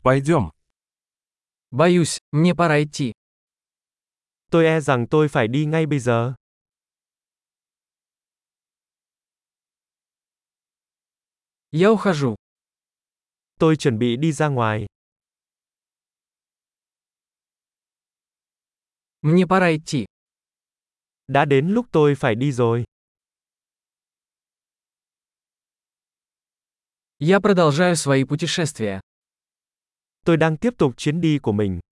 Пойдем. Боюсь, мне пора идти. Tôi e rằng tôi phải đi ngay bây giờ. Я ухожу. Tôi chuẩn bị đi ra ngoài. Мне пора идти. Đã đến lúc tôi phải đi rồi. Я продолжаю свои путешествия. Tôi đang tiếp tục chuyến đi của mình.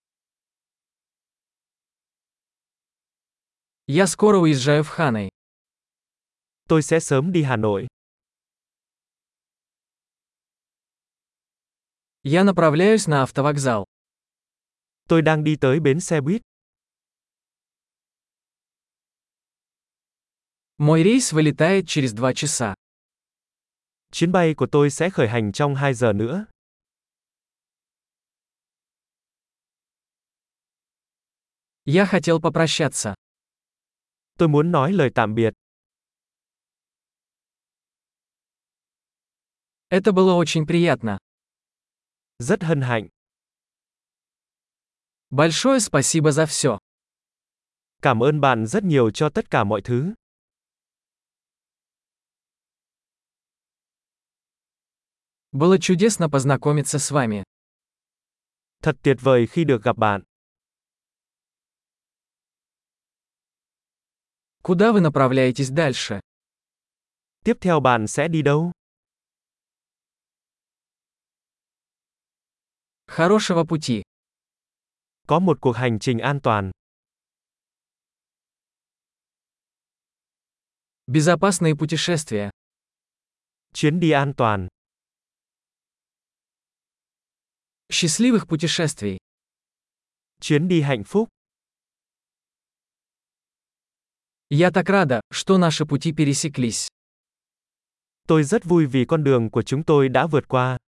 Я скоро уезжаю в Ханoi. Tôi sẽ sớm đi Hà Nội. Я направляюсь на автовокзал. Tôi đang đi tới bến xe buýt. Мой рейс вылетает через 2 часа. Chuyến bay của tôi sẽ khởi hành trong 2 giờ nữa. Я хотел попрощаться. Tôi muốn nói lời tạm biệt. Это было очень приятно. Rất hân hạnh. Большое спасибо за все. Cảm ơn bạn rất nhiều cho tất cả mọi thứ. Было чудесно познакомиться с вами. Thật tuyệt vời khi được gặp bạn. Куда вы направляетесь дальше? Tiếp theo bạn sẽ đi đâu? Хорошего пути. Có một cuộc hành trình an toàn. Безопасные путешествия. Chuyến đi an toàn. Счастливых путешествий. Chuyến đi hạnh phúc. Я так рада, что наши пути пересеклись. Tôi rất vui vì con đường của chúng tôi đã vượt qua.